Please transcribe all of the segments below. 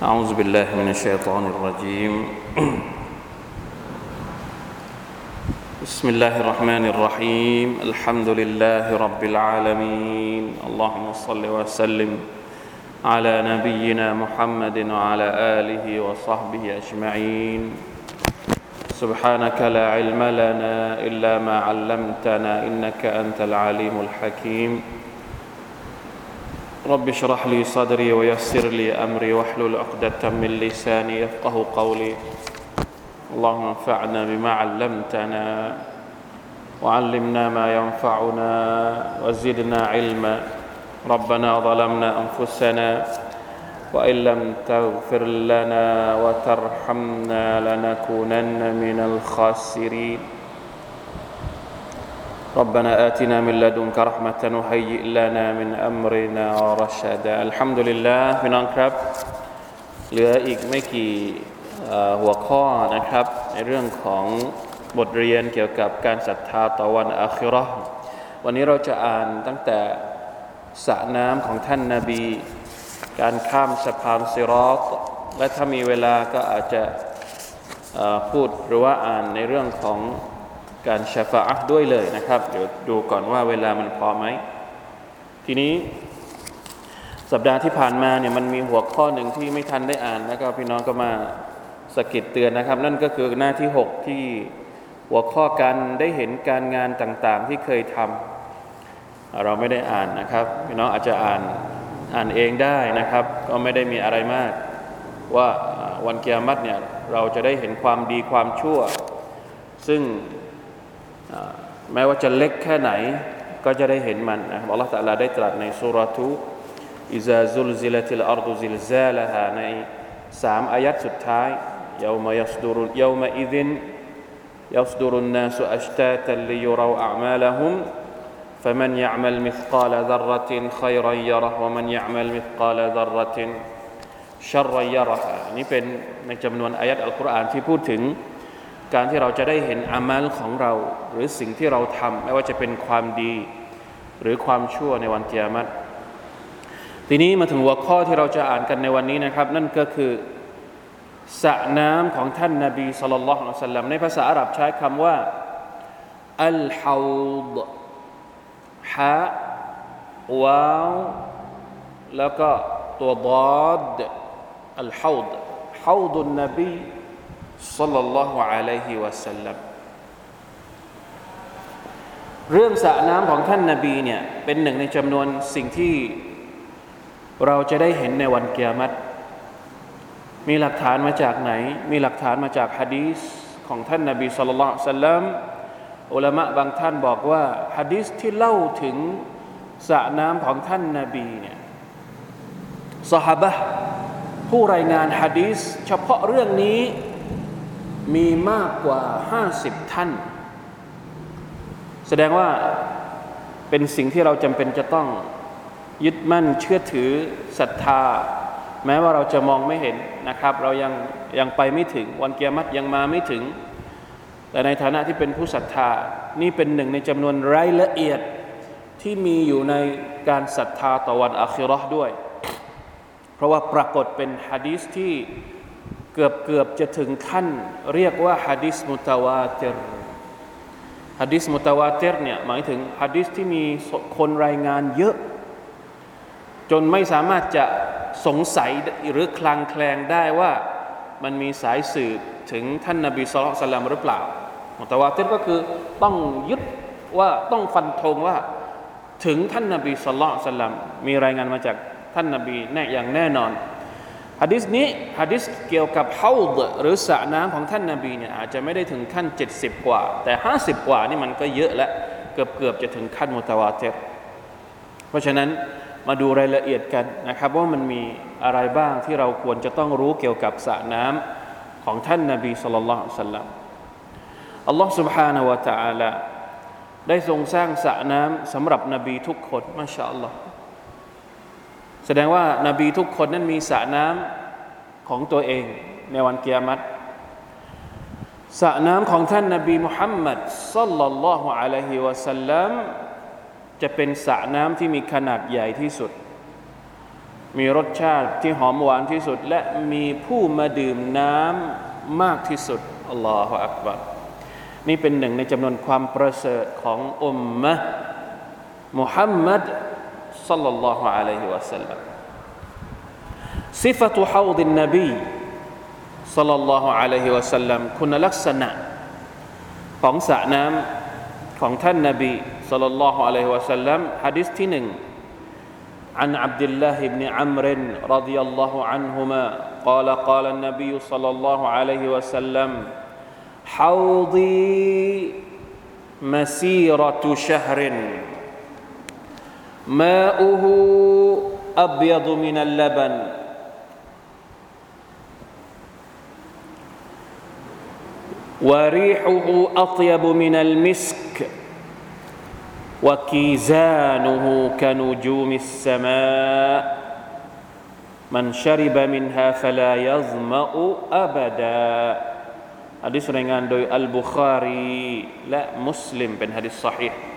أعوذ بالله من الشيطان الرجيم بسم الله الرحمن الرحيم الحمد لله رب العالمين اللهم صل وسلم على نبينا محمد وعلى آله وصحبه أجمعين سبحانك لا علم لنا إلا ما علمتنا إنك أنت العليم الحكيم رب اشرح لي صدري ويسر لي أمري واحلل عقدة من لساني يفقه قولي اللهم انفعنا بما علمتنا وعلمنا ما ينفعنا وزدنا علما ربنا ظلمنا أنفسنا وإن لم تغفر لنا وترحمنا لنكونن من الخاسرين ربنا آتنا من لدنك رحمة وهيئ لنا من أمرنا رشدا الحمد لله พี่น้องครับเหลืออีกไม่กี่หัวข้อนะครับในเรื่องของบทเรียนเกี่ยวกับการศรัทธาต่อวันอาคิเราะห์วันนี้เราจะอ่านตั้งแต่สระน้ำของท่านนบีการข้ามสะพานซิรอฏและถ้ามีเวลาก็อาจจะพูดหรือว่าอ่านในเรื่องของการชะฟาอะห์ด้วยเลยนะครับเดี๋ยวดูก่อนว่าเวลามันพอไหมทีนี้สัปดาห์ที่ผ่านมาเนี่ยมันมีหัวข้อหนึ่งที่ไม่ทันได้อ่านแล้วก็พี่น้องก็มาสะกิดเตือนนะครับนั่นก็คือหน้าที่6ที่หัวข้อการได้เห็นการงานต่างๆที่เคยทำเราไม่ได้อ่านนะครับพี่น้องอาจจะอ่านเองได้นะครับก็ไม่ได้มีอะไรมากว่าวันกิยามะฮ์เนี่ยเราจะได้เห็นความดีความชั่วซึ่งแม้ว่าจะเล็กแค่ไหนก็จะได้เห็นมันนะครับอัลเลาะห์ตะอาลาได้ตรัสในซูเราะห์อิซาซุลซิลติลอัรฎุซิลซาลาฮาใน3อายัดสุดท้ายยาวมะยัสดุรุยาวมะอิซินยัสดุรุนนาสอัชตาตันลิยุเราอะอ์มาละฮุมفمن يعمل مثقال ذرة خيرا يره ومن يعمل مثقال ذرة شرا يره นี่เป็นในจำนวนอายัดอัลกุรอานที่พูดถึงการที่เราจะได้เห็นอามัลของเราหรือสิ่งที่เราทำไม่ว่าจะเป็นความดีหรือความชั่วในวันกิยามะฮ์ทีนี้มาถึงหัวข้อที่เราจะอ่านกันในวันนี้นะครับนั่นก็คือสระน้ำของท่านนบีศ็อลลัลลอฮุอะลัยฮิวะซัลลัมในภาษาอาหรับใช้คำว่าอัลฮาวฎฮะวาวแล้วก็ตัวฎอดอัลฮาวฎฮาวฎุนนบีศ็อลลัลลอฮุอะลัยฮิวะซัลลัมเรื่องสระน้ำของท่านนบีเนี่ยเป็นหนึ่งในจำนวนสิ่งที่เราจะได้เห็นในวันกิยามะฮ์มีหลักฐานมาจากไหนมีหลักฐานมาจากหะดีษของท่านนบีศ็อลลัลลอฮุอะลัยฮิวะซัลลัมอุลามะบางท่านบอกว่าหะดีษที่เล่าถึงสระน้ำของท่านนบีเนี่ยซอฮาบะห์ผู้รายงานหะดีษเฉพาะเรื่องนี้มีมากกว่า50ท่านแสดงว่าเป็นสิ่งที่เราจำเป็นจะต้องยึดมั่นเชื่อถือศรัทธาแม้ว่าเราจะมองไม่เห็นนะครับเรายังไปไม่ถึงวันกิยามะฮ์ยังมาไม่ถึงแต่ในฐานะที่เป็นผู้ศรัทธานี่เป็นหนึ่งในจำนวนรายละเอียดที่มีอยู่ในการศรัทธาต่อวันอาคิเราะห์ด้วยเพราะว่าปรากฏเป็นหะดีษที่เกือบจะถึงขั้นเรียกว่าหะดีษมุตะวาติรหะดีษมุตะวาติรเนี่ยหมายถึงหะดีษที่มีคนรายงานเยอะจนไม่สามารถจะสงสัยหรือคลางแคลงได้ว่ามันมีสายสืบถึงท่านนบีศ็อลลัลลอฮุอะลัยฮิวะซัลลัมหรือเปล่ามุตะวาติรก็คือต้องยึดว่าต้องฟันธงว่าถึงท่านนบีศ็อลลัลลอฮุอะลัยฮิวะซัลลัมมีรายงานมาจากท่านนบีแน่อย่างแน่นอนหะดีษนี้หะดีษเกี่ยวกับฮาวฎหรือสระน้ำของท่านนบีเนี่ยอาจจะไม่ได้ถึงขั้น70กว่าแต่50กว่านี่มันก็เยอะแล้วเกือบจะถึงขั้นมุตะวาติรเพราะฉะนั้นมาดูรายละเอียดกันนะครับว่ามันมีอะไรบ้างที่เราควรจะต้องรู้เกี่ยวกับสระน้ำของท่านนบีศ็อลลัลลอฮุอะลัยฮิวะซัลลัมอัลลอฮฺ سبحانه และ تعالى ได้ทรงสร้างสระน้ำสำหรับนบีทุกคนมาชาอัลลอฮ์แสดงว่านบีทุกคนนั้นมีสระน้ำของตัวเองในวันกิยามะฮ์สระน้ำของท่านนบีมุฮัมมัดศ็อลลัลลอฮุอะลัยฮิวะซัลลัมจะเป็นสระน้ำที่มีขนาดใหญ่ที่สุดมีรสชาติที่หอมหวานที่สุดและมีผู้มาดื่มน้ำมากที่สุดอัลลอฮฺอักบัรนี่เป็นหนึ่งในจำนวนความประเสริฐของอุมมะห์มุฮัมมัดศ็อลลัลลอฮุอะลัยฮิวะซัลลัมซิฟะตุฮาวฎินนบีศ็อลลัลลอฮุอะลัยฮิวะซัลลัมคุณลักษณะของสระน้ำของท่านนบีศ็อลลัลลอฮุอะลัยฮิวะซัลลัมหะดีษที่1 عن عبد الله بن عمرو رضي الله عنهما قال قال النبي صلى الله عليه وسلم حوضي مسيرة شهر ماؤه أبيض من اللبن وريحه أطيب من المسك وكيزانه كنجوم السماء من شرب منها فلا يظمأ أبدا หะดีษรายงานโดยอัลบุคารีและมุสลิมเป็นหะดีษซอฮีห์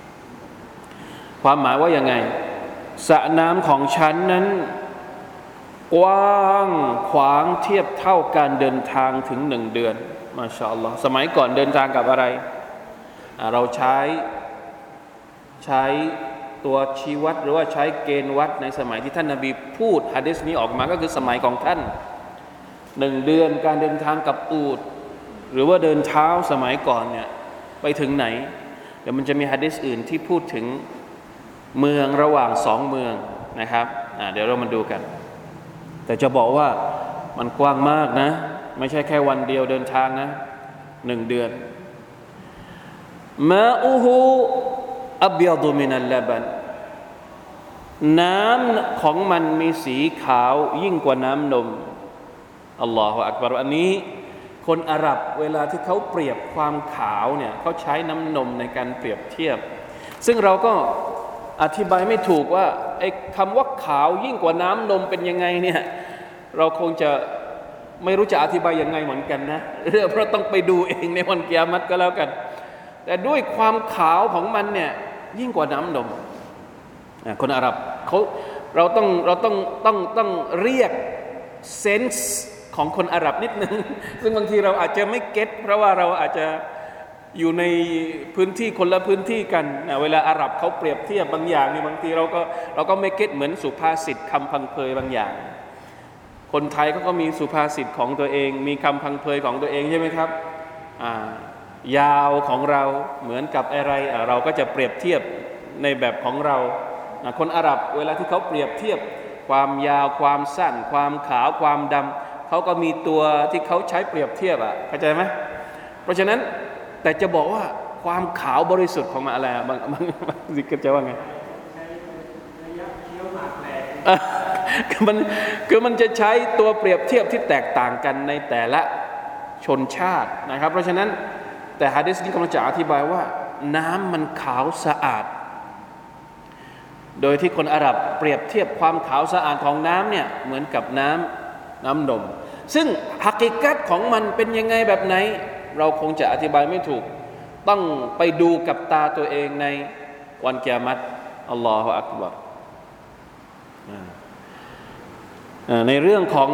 ความหมายว่ายังไงสระน้ำของฉันนั้นกว้างขวางเทียบเท่าการเดินทางถึง1 เดือนมาชาอัลลอฮ์สมัยก่อนเดินทางกับอะไรเราใช้ตัวชี้วัดหรือว่าใช้เกณฑ์วัดในสมัยที่ท่านนบีพูดหะดีษนี้ออกมาก็คือสมัยของท่าน1 เดือนการเดินทางกับอูฐหรือว่าเดินเท้าสมัยก่อนเนี่ยไปถึงไหนเดี๋ยวมันจะมีหะดีษอื่นที่พูดถึงเมืองระหว่าง2 เมืองนะครับเดี๋ยวเรามาดูกันแต่จะบอกว่ามันกว้างมากนะไม่ใช่แค่วันเดียวเดินทางนะ1 เดือนมาอูฮูอับยาดุมินัลลาบันน้ำของมันมีสีขาวยิ่งกว่าน้ำนมอัลลอฮฺอักบัรอันนี้คนอาหรับเวลาที่เขาเปรียบความขาวเนี่ยเขาใช้น้ำนมในการเปรียบเทียบซึ่งเราก็อธิบายไม่ถูกว่าไอ้คำว่าขาวยิ่งกว่าน้ำนมเป็นยังไงเนี่ยเราคงจะไม่รู้จะอธิบายยังไงเหมือนกันนะเพราะต้องไปดูเองในวันกิยามะฮ์ก็แล้วกันแต่ด้วยความขาวของมันเนี่ยยิ่งกว่าน้ำนมคนอาหรับเราต้องเรียกเซนส์ของคนอาหรับนิดนึงซึ่งบางทีเราอาจจะไม่เก็ตเพราะว่าเราอาจจะอยู่ในพื้นที่คนละพื้นที่กันเวลาอาหรับเขาเปรียบเทียบบางอย่างนี่บางทีเราก็ไม่เก็ตเหมือนสุภาษิตคำพังเพยบางอย่างคนไทยเขาก็มีสุภาษิตของตัวเองมีคำพังเพยของตัวเองใช่ไหมครับยาวของเราเหมือนกับอะไรเราก็จะเปรียบเทียบในแบบของเราคนอาหรับเวลาที่เขาเปรียบเทียบความยาวความสั้นความขาวความดำเขาก็มีตัวที่เขาใช้เปรียบเทียบเข้าใจไหมเพราะฉะนั้นแต่จะบอกว่าความขาวบริสุทธิ์ของมันอะไรบางสิกจะว่าไงคือมันจะใช้ตัวเปรียบเทียบที่แตกต่างกันในแต่ละชนชาตินะครับเพราะฉะนั้นแต่หะดีษนี้กำลังจะอธิบายว่าน้ำมันขาวสะอาดโดยที่คนอาหรับเปรียบเทียบความขาวสะอาดของน้ำเนี่ยเหมือนกับน้ำนมซึ่งฮักกิกัตของมันเป็นยังไงแบบไหนเราคงจะอธิบายไม่ถูกต้องไปดูกับตาตัวเองในวันกิยามะฮ์อัลลอฮฺอักบัรในเรื่องของ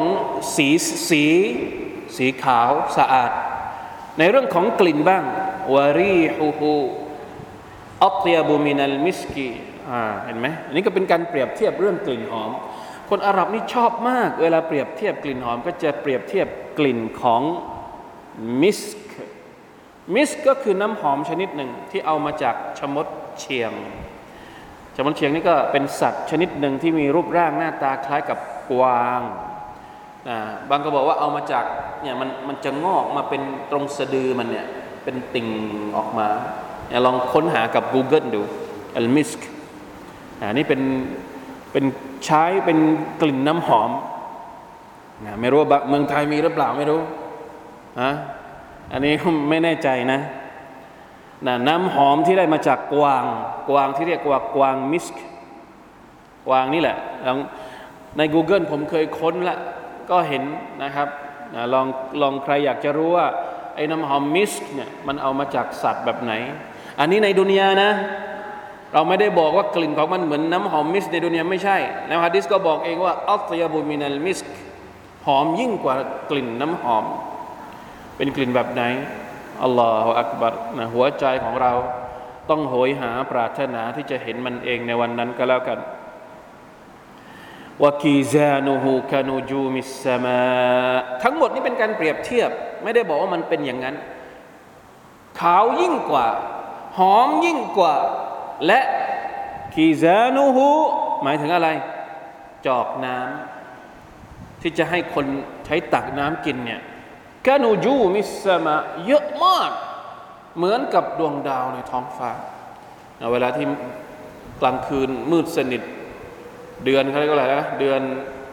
สีขาวสะอาดในเรื่องของกลิ่นบ้างวารีฮูฮูอัตยาบุมินัลมิสกีเห็นไหมอันนี้ก็เป็นการเปรียบเทียบเรื่องกลิ่นหอมคนอาหรับนี่ชอบมากเวลาเปรียบเทียบกลิ่นหอมก็จะเปรียบเทียบกลิ่นของมิสก์ก็คือน้ำหอมชนิดหนึ่งที่เอามาจากชมดเชียงนี่ก็เป็นสัตว์ชนิดหนึ่งที่มีรูปร่างหน้าตาคล้ายกับกวางบางก็บอกว่าเอามาจากเนี่ยมันจะงอกมาเป็นตรงสะดือมันเนี่ยเป็นติ่งออกมาลองค้นหากับ Google ดูอัลมิสก์นี่เป็นใช้เป็นกลิ่นน้ำหอมไม่รู้ว่าเมืองไทยมีหรือเปล่าไม่รู้อันนี้ไม่แน่ใจนะน้ำหอมที่ได้มาจากกวางที่เรียกว่ากวางมิสก์กวางนี่แหละใน Google ผมเคยค้นละก็เห็นนะครับลองใครอยากจะรู้ว่าไอ้น้ำหอมมิสก์เนี่ยมันเอามาจากสัตว์แบบไหนอันนี้ในดุนยานะเราไม่ได้บอกว่ากลิ่นของมันเหมือนน้ำหอมมิสก์ในดุนยาไม่ใช่แล้วหะดีษก็บอกเองว่าอัตยาบุมินัลมิสก์หอมยิ่งกว่ากลิ่นน้ำหอมเป็นกลิ่นแบบไหนอัลลอฮฺอักบัรนะหัวใจของเราต้องโหยหาปรารถนาที่จะเห็นมันเองในวันนั้นก็แล้วกันวะกีซานุฮูกานูจูมิสสมาทั้งหมดนี้เป็นการเปรียบเทียบไม่ได้บอกว่ามันเป็นอย่างนั้นขาวยิ่งกว่าหอมยิ่งกว่าและกีซานุฮูหมายถึงอะไรจอกน้ำที่จะให้คนใช้ตักน้ำกินเนี่ยกานูจูมิสสมาเยอะมากเหมือนกับดวงดาวในท้องฟ้าเวลาที่กลางคืนมืดสนิทเดือนเขาเรียกว่าอะไรนะเดือน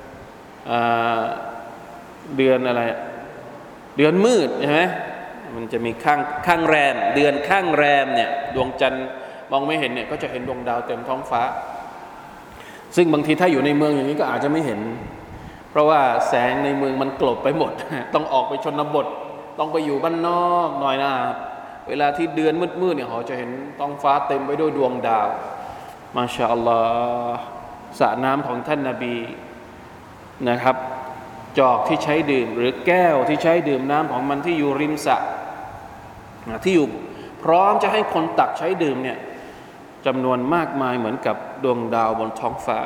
อะไรเดือนมืดใช่ไหมมันจะมีข้างแรมเดือนข้างแรมเนี่ยดวงจันทร์มองไม่เห็นเนี่ยก็จะเห็นดวงดาวเต็มท้องฟ้าซึ่งบางทีถ้าอยู่ในเมืองอย่างนี้ก็อาจจะไม่เห็นเพราะว่าแสงในเมืองมันกลบไปหมดต้องออกไปชนบทต้องไปอยู่บ้านนอกหน่อยนะเวลาที่เดือนมืดๆเนี่ยเขาจะเห็นท้องฟ้าเต็มไปด้วยดวงดาวมาชาอัลลอฮ์สระน้ำของท่านนบีนะครับจอกที่ใช้ดื่มหรือแก้วที่ใช้ดื่มน้ำของมันที่อยู่ริมสระที่อยู่พร้อมจะให้คนตักใช้ดื่มเนี่ยจำนวนมากมายเหมือนกับดวงดาวบนท้องฟ้า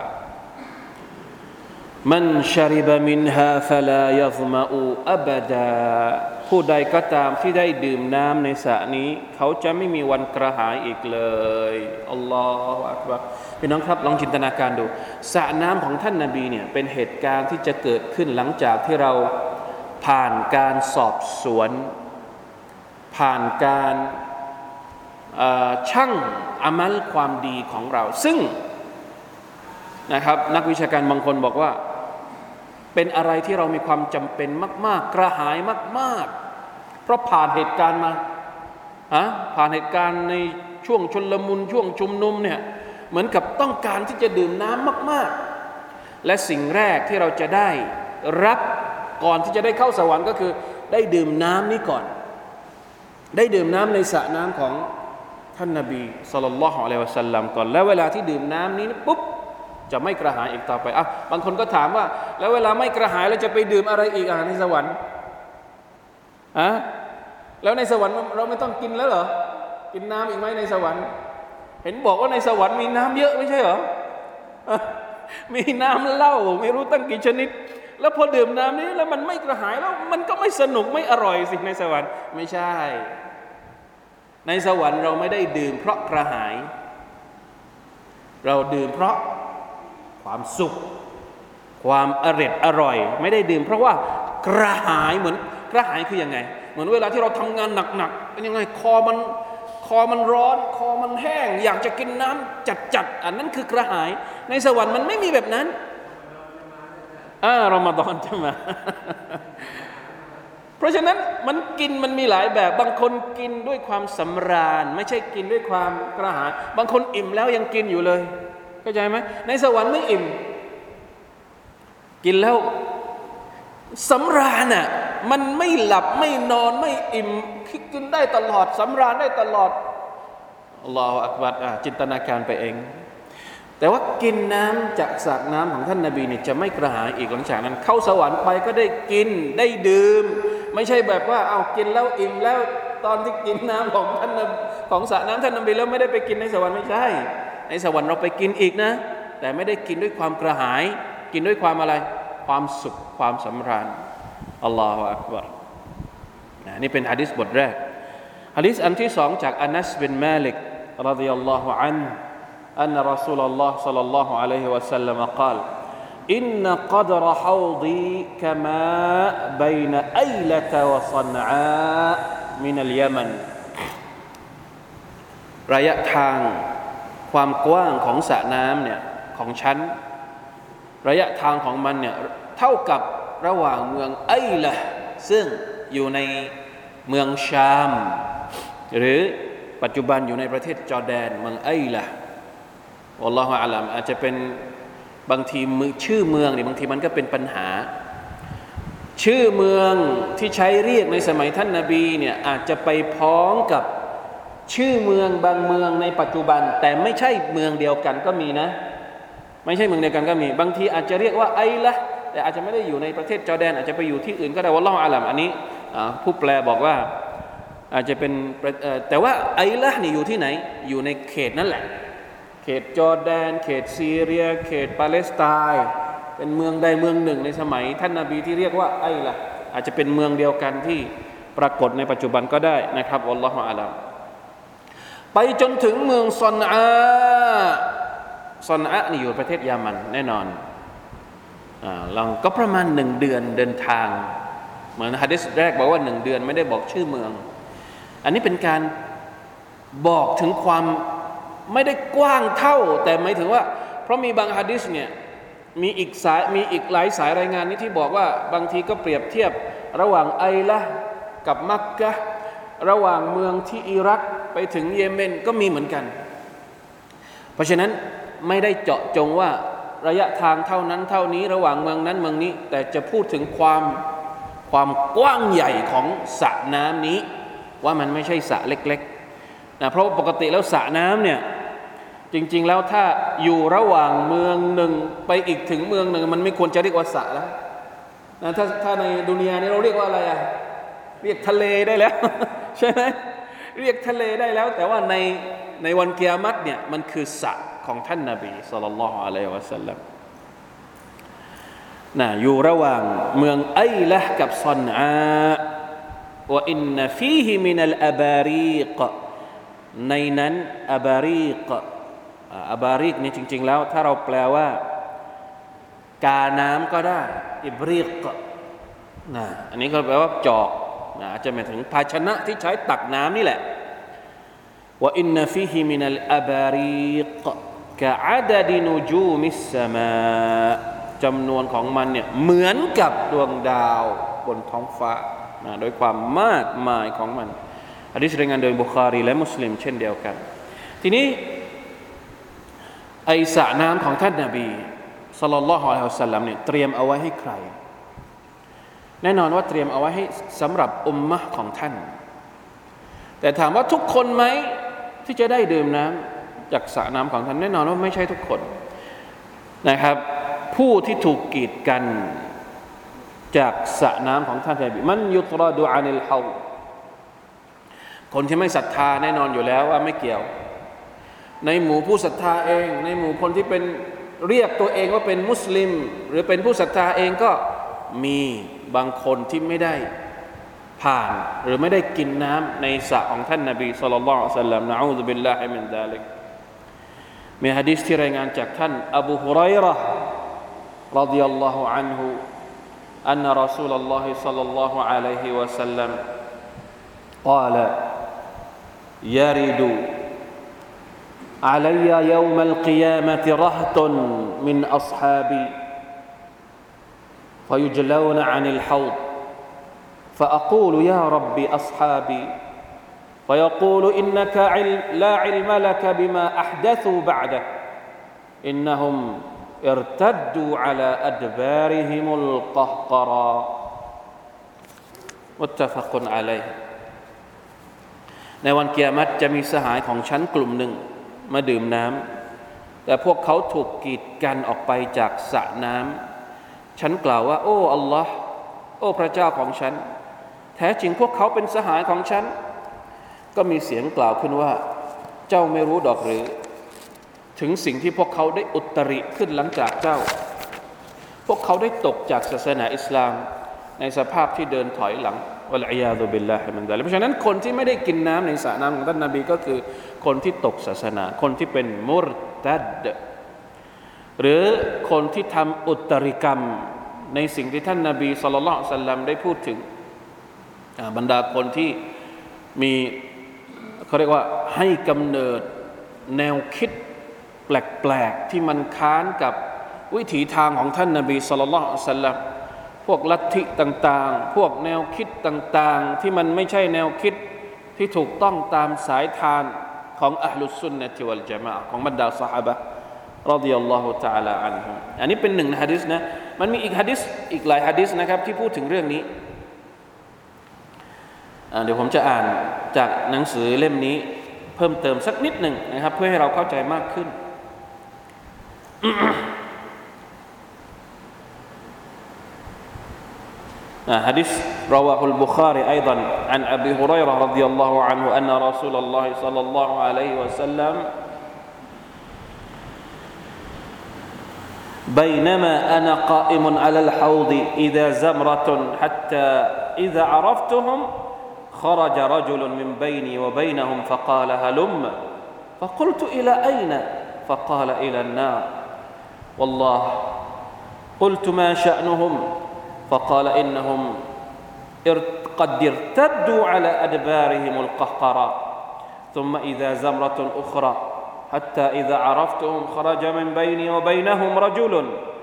มันชริบมินฮาฟลายัซมะอูอับดาผู้ใดก็ตามที่ได้ดื่มน้ำในสระนี้เขาจะไม่มีวันกระหายอีกเลยอัลลอฮฺอักบัรพี่น้องครับลองจินตนาการดูสระน้ำของท่านนบีเนี่ยเป็นเหตุการณ์ที่จะเกิดขึ้นหลังจากที่เราผ่านการสอบสวนผ่านการชั่งอามัลความดีของเราซึ่งนะครับนักวิชาการบางคนบอกว่าเป็นอะไรที่เรามีความจำเป็นมากๆกระหายมากๆเพราะผ่านเหตุการณ์มาผ่านเหตุการณ์ในช่วงชลมุนช่วงชุมนุมเนี่ยเหมือนกับต้องการที่จะดื่มน้ำมากๆและสิ่งแรกที่เราจะได้รับก่อนที่จะได้เข้าสวรรค์ก็คือได้ดื่มน้ำนี้ก่อนได้ดื่มน้ำในสระน้ำของท่านนบีศ็อลลัลลอฮุอะลัยฮิวะซัลลัมก่อนแล้วเวลาที่ดื่มน้ำนี้ปุ๊บจะไม่กระหายอีกต่อไปบางคนก็ถามว่าแล้วเวลาไม่กระหายแล้วจะไปดื่มอะไรอีกในสวรรค์แล้วในสวรรค์เราไม่ต้องกินแล้วเหรอกินน้ำอีกไหมในสวรรค์เห็นบอกว่าในสวรรค์มีน้ำเยอะไม่ใช่เหรอมีน้ำเหล้าไม่รู้ตั้งกี่ชนิดแล้วพอดื่มน้ำนี้แล้วมันไม่กระหายแล้วมันก็ไม่สนุกไม่อร่อยสิในสวรรค์ไม่ใช่ในสวรรค์เราไม่ได้ดื่มเพราะกระหายเราดื่มเพราะความสุขความอร่อยไม่ได้ดื่มเพราะว่ากระหายเหมือนกระหายคือยังไงเหมือนเวลาที่เราทำงานหนักๆเป็นยังไงคอมันร้อนคอมันแห้งอยากจะกินน้ำจัดอันนั้นคือกระหายในสวรรค์มันไม่มีแบบนั้นรอมฎอนจะมา เพราะฉะนั้นมันมีหลายแบบบางคนกินด้วยความสำราญไม่ใช่กินด้วยความกระหายบางคนอิ่มแล้วยังกินอยู่เลยเข้าใจไหมในสวรรค์ไม่อิ่มกินแล้วสำราญมันไม่หลับไม่นอนไม่อิ่มกินได้ตลอดสำราญได้ตลอดอัลลอฮฺอักบัรจินตนาการไปเองแต่ว่ากินน้ำจากสระน้ำของท่านนบีเนี่ยจะไม่กระหายอีกหลังจากนั้นเข้าสวรรค์ไปก็ได้กินได้ดื่มไม่ใช่แบบว่ากินแล้วอิ่มแล้วตอนที่กินน้ำของท่านของสระน้ำท่านนบีแล้วไม่ได้ไปกินในสวรรค์ไม่ใช่ในสวรรค์เราไปกินอีกนะแต่ไม่ได้กินด้วยความกระหายกินด้วยความอะไรความสุขความสำราญอัลลอฮฺอักบัรนี่เป็นหะดีษบทแรกหะดีษอันที่สองจากอานัสบินมาลิกรฎิยัลลอฮุอันฮุأن رسول الله صلى الله عليه وسلم قال إن قدر حوضي كماء بين أيلة وصنعاء من اليمن ระยะทางความกว้างของสระน้ำเนี่ยของฉันระยะทางของมันเนี่ยเท่ากับระหว่างเมืองไอละซึ่งอยู่ในเมืองชามหรือปัจจุบันอยู่ในประเทศจอร์แดนเมืองไอละอัลลอฮฺอาลัมอาจจะเป็นบางทีชื่อเมืองเนี่ยบางทีมันก็เป็นปัญหาชื่อเมืองที่ใช้เรียกในสมัยท่านนบีเนี่ยอาจจะไปพ้องกับชื่อเมืองบางเมืองในปัจจุบันแต่ไม่ใช่เมืองเดียวกันก็มีนะไม่ใช่เมืองเดียวกันก็มีบางทีอาจจะเรียกว่าไอละแต่อาจจะไม่ได้อยู่ในประเทศจอร์แดนอาจจะไปอยู่ที่อื่นก็ได้วัลลอฮุอาลัมอันนี้ผู้แปลบอกว่าอาจจะเป็นแต่ว่าไอละนี่อยู่ที่ไหนอยู่ในเขตนั่นแหละเขตจอร์แดนเขตซีเรียเขตปาเลสไตน์เป็นเมืองใดเมืองหนึ่งในสมัยท่านนบีที่เรียกว่าไอละอาจจะเป็นเมืองเดียวกันที่ปรากฏในปัจจุบันก็ได้นะครับวัลลอฮุอาลัมไปจนถึงเมืองซอนอานี่อยู่ประเทศยามันแน่นอนลองก็ประมาณ1 เดือนเดินทางเหมือนหะดีษแรกบอกว่า1 เดือนไม่ได้บอกชื่อเมืองอันนี้เป็นการบอกถึงความไม่ได้กว้างเท่าแต่หมายถึงว่าเพราะมีบางหะดีษเนี่ยมีอีกหลายสายรายงานนี้ที่บอกว่าบางทีก็เปรียบเทียบระหว่างไอละกับมักกะฮ์ระหว่างเมืองที่อิรักไปถึงเยเมนก็มีเหมือนกันเพราะฉะนั้นไม่ได้เจาะจงว่าระยะทางเท่านั้นเท่านี้ระหว่างเมืองนั้นเมืองนี้แต่จะพูดถึงความกว้างใหญ่ของสระน้ำนี้ว่ามันไม่ใช่สระเล็กๆนะเพราะปกติแล้วสระน้ำเนี่ยจริงๆแล้วถ้าอยู่ระหว่างเมืองหนึ่งไปอีกถึงเมืองหนึ่งมันไม่ควรจะเรียกว่าสระแล้วนะถ้าในดุนยานี้เราเรียกว่าอะไรอะเรียกทะเลได้แล้ว ใช่ไหมเรียกทะเลได้แล้วแต่ว่าในวันกิยามะฮ์เนี่ยมันคือสระของท่านนบีศ็อลลัลลอฮุอะลัยฮิวะซัลลัมนะอยู่ระหว่างเมืองไอละห์กับซอนอาว่าอินนฟีฮิมินัลอะบารีกในนั้นอบารีกนี่จริงๆแล้วถ้าเราแปลว่ากาน้ำก็ได้อิบรีกนะอันนี้ก็แปลว่าจอกนะอาจจะหมายถึงภาชนะที่ใช้ตักน้ำนี่แหละว่าอินนฟีฮิมินัลอะบารีกกะอะดะดินุจูมิสสมาจำนวนของมันเนี่ยเหมือนกับดวงดาวบนท้องฟ้านะโดยความมากมายของมันหะดีษรายงานโดยบุคอรีและมุสลิมเช่นเดียวกันทีนี้ไอสระน้ำของท่านนบีศ็อลลัลลอฮุอะลัยฮิวะซัลลัมเนี่ยเตรียมเอาไว้ให้ใครแน่นอนว่าเตรียมเอาไว้ให้สำหรับอุมมะห์ของท่านแต่ถามว่าทุกคนไหมที่จะได้ดื่มน้ำจากสระน้ำของท่านแน่นอนว่าไม่ใช่ทุกคนนะครับผู้ที่ถูกกีดกันจากสระน้ำของท่านนบีมันยุตรอดูอานิลเฮาคนที่ไม่ศรัทธาแน่นอนอยู่แล้วว่าไม่เกี่ยวในหมู่ผู้ศรัทธาเองในหมู่คนที่เป็นเรียกตัวเองว่าเป็นมุสลิมหรือเป็นผู้ศรัทธาเองก็มีบางคนที่ไม่ได้ผ่านหรือไม่ได้กินน้ำในสระของท่านนบีศ็อลลัลลอฮุอะลัยฮิวะซัลลัมนะอูซุบิลลาฮิมินซาลิกมีหะดีษที่รายงานจากท่านอบูฮุรัยเราะห์รอฎิยัลลอฮุอันฮุอันนะรอซูลุลลอฮิศ็อลลัลลอฮุอะลัยฮิวะซัลลัมقال يرد علي يوم القيامة رهط من أصحابي فيجلون عن الحوض فأقول يا رب أصحابي فيقول إنك لا علم لك بما أحدثوا بعدك إنهم ارتدوا على أدبارهم القهقرى متفق عليه ในวันกิยามะฮ์จะมีสหายของฉันกลุ่มหนึ่งมาดื่มน้ำแต่พวกเขาถูกกีดกันออกไปจากสระน้ำฉันกล่าวว่าโอ้อัลลอฮ์โอ้พระเจ้าของฉันแท้จริงพวกเขาเป็นสหายของฉันก็มีเสียงกล่าวขึ้นว่าเจ้าไม่รู้ดอกหรือถึงสิ่งที่พวกเขาได้อุตริขึ้นหลังจากเจ้าพวกเขาได้ตกจากศาสนาอิสลามในสภาพที่เดินถอยหลังวัลอียาซุบิลลาฮิมินซาลิกเพราะฉะนั้นคนที่ไม่ได้กินน้ำในสระน้ำของท่านนบีก็คือคนที่ตกศาสนาคนที่เป็นมุรตัดหรือคนที่ทำอุตริกรรมในสิ่งที่ท่านนบีศ็อลลัลลอฮุอะลัยฮิวะซัลลัมได้พูดถึงบรรดาคนที่มีเขาเรียกว่าให้กำเนิดแนวคิดแปลกๆที่มันค้านกับวิถีทางของท่านนบีศ็อลลัลลอฮุอะลัยฮิวะซัลลัมพวกลัทธิต่างๆพวกแนวคิดต่างๆที่มันไม่ใช่แนวคิดที่ถูกต้องตามสายทานของอะห์ลุสซุนนะฮ์วัลญะมาอะฮ์ของบรรดาซอฮาบะห์รอฎิยัลลอฮุตะอาลาอันฮุมอันนี้เป็นหนึ่งในหะดีษนะมันมีอีกหะดีษอีกหลายหะดีษนะครับที่พูดถึงเรื่องนี้เดี๋ยวผมจะอ่านจากหนังสือเล่มนี้เพิ่มเติมสักนิดหนึ่งนะครับเพื่อให้เราเข้าใจมากขึ้น حديث رواه البخاري أيضا عن أبي هريرة رضي الله عنه أن رسول الله صلى الله عليه وسلم بينما أنا قائم على الحوض إذا زمرة حتى إذا عرفتهم خرج رجل من بيني وبينهم فقال هلم فقلت إلى أين فقال إلى النار والله قلت ما شأنهم فقال إنهم قد ارتدوا على أدبارهم القهقرى ثم إذا زمرة أخرى حتى إذا عرفتهم خرج من بيني وبينهم رجل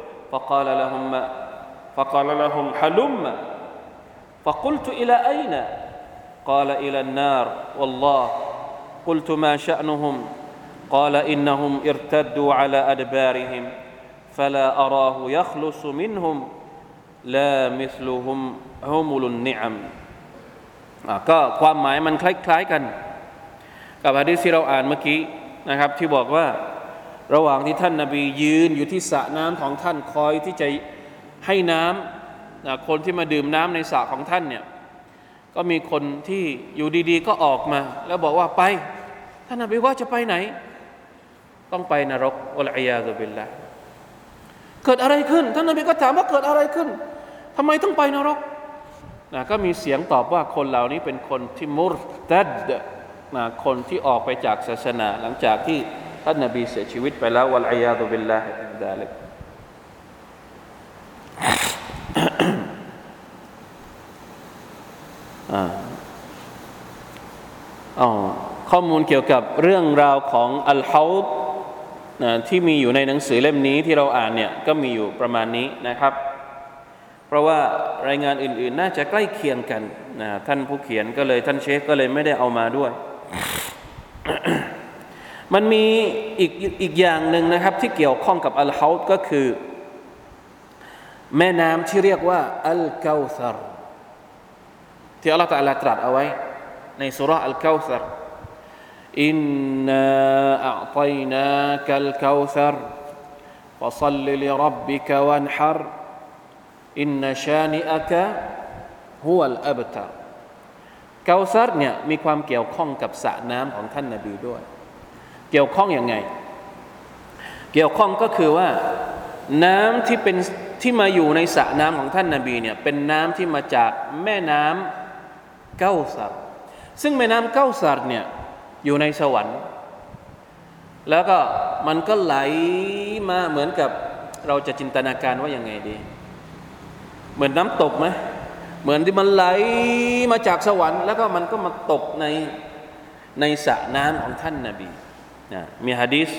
فقال لهم هلم فقلت إلى أين قال إلى النار والله قلت ما شأنهم قال إنهم ارتدوا على أدبارهم فلا أراه يخلص منهم لا مثلهم حمل النعم ก็ความหมายมันคล้ายๆกันกับหะดีษที่เราอ่านเมื่อกี้นะครับที่บอกว่าระหว่างที่ท่านนบียืนอยู่ที่สระน้ำของท่านคอยที่จะให้น้ำคนที่มาดื่มน้ำในสระของท่านเนี่ยก็มีคนที่อยู่ดีๆก็ออกมาแล้วบอกว่าไปท่านนบีว่าจะไปไหนต้องไปนรกอัลอียาซุบิลลาห์เกิดอะไรขึ้นท่านนบีก็ถามว่าเกิดอะไรขึ้นทำไมต้องไปนรกก็มีเสียงตอบว่าคนเหล่านี้เป็นคนที่มุรตัดคนที่ออกไปจากศาสนาหลังจากที่ท่านนบีเสียชีวิตไปแล้ววัลอียาซุบิลลาฮิมินซาลิกข้อมูลเกี่ยวกับเรื่องราวของอัลฮาวดที่มีอยู่ในหนังสือเล่มนี้ที่เราอ่านเนี่ยก็มีอยู่ประมาณนี้นะครับเพราะว่ารายงานอื่นๆน่าจะใกล้เคียงกันท่านผู้เขียนก็เลยท่านเชคก็เลยไม่ได้เอามาด้วย มันมีอีกอย่างหนึ่งนะครับที่เกี่ยวข้องกับอัลฮาวดก็คือแม่น้ำที่เรียกว่าอัลกาวซัรที่อัลเลาะห์ตะอาลาตรัสเอาไว้ในซูเราะห์อัลกาวซัรอินนาอัอฏอยนากัลกาวซัรฟะศ็อลลิลิร็อบบิกะวันฮัรอินนะชานิอะกะฮุวัลอับตารกาวซัรเนี่ยมีความเกี่ยวข้องกับสระน้ำของท่านนบีด้วยเกี่ยวข้องยังไงเกี่ยวข้องก็คือว่าน้ำที่มาอยู่ในสระน้ำของท่านนบีเนี่ยเป็นน้ำที่มาจากแม่น้ำเกาซัรซึ่งแม่น้ำเกาซัรเนี่ยอยู่ในสวรรค์แล้วก็มันก็ไหลมาเหมือนกับเราจะจินตนาการว่ายังไงดีเหมือนน้ำตกไหมเหมือนที่มันไหลมาจากสวรรค์แล้วก็มันก็มาตกในสระน้ำของท่านนบีมีหะดีษ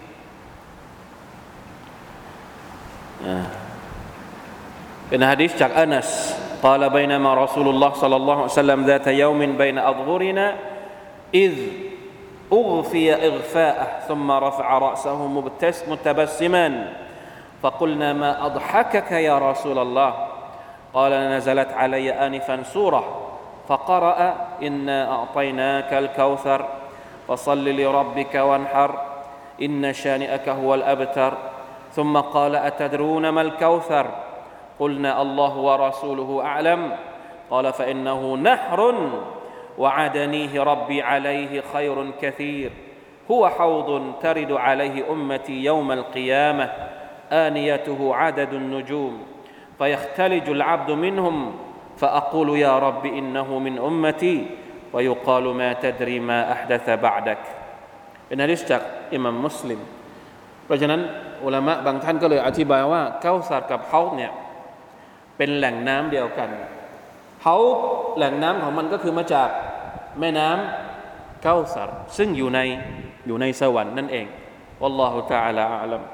เป็นหะดีษจากอานัส قال بينما رسول الله صلى الله عليه وسلم ذات يوم بين أظهرنا إذ أغفي إغفاءه ثم رفع رأسه متبسما فقلنا ما أضحكك يا رسول الله قال نزلت علي آنفا سورة فقرأ إنا أعطيناك الكوثر فصل لربك وانحر إن شانئك هو الأبتر ثم قال أتدرون ما الكوثر قلنا الله ورسوله أعلم قال فإنه نهر وعدنيه ربي عليه خير كثير هو حوض ترد عليه أمتي يوم القيامة آنيته عدد النجوم فيختلج العبد منهم فأقول يا رب إنه من أمتي ويقال ما تدري ما أحدث بعدك เป็นหะดีษจากอิหม่ามมุสลิมเพราะฉะนั้นอุลามะบางท่านก็เลยอธิบายว่าเกาซัรกับฮาวดเนี่ยเป็นแหล่งน้ำเดียวกันฮาวดแหล่งน้ำของมันก็คือมาจากแม่น้ำเกาซัรซึ่งอยู่ในสวรรค์นั่นเองวัลลอฮุตะอาลาอะลัม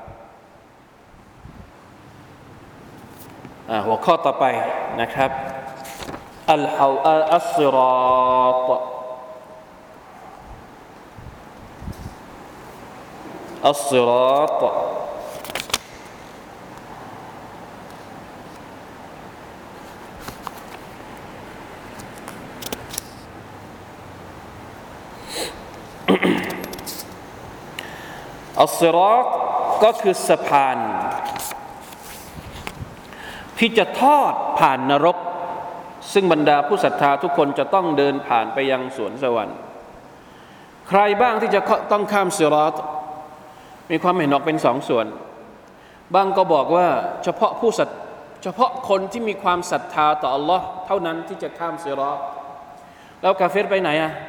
หัวข้อต่อไปนะครับอัสซิรอฏالصراط อัสซิรอตก็คือสะพานที่จะทอดผ่านนรกซึ่งบรรดาผู้ศรัทธาทุกคนจะต้องเดินผ่านไปยังสวนสวรรค์ใครบ้างที่จะต้องข้ามซิรอตมีความเห็นออกเป็นสองส่วนบางก็บอกว่าเฉพาะคนที่มีความศรัทธาต่ออัลลอฮ์เท่านั้นที่จะข้ามซิรอตแล้วกาเฟรไปไหน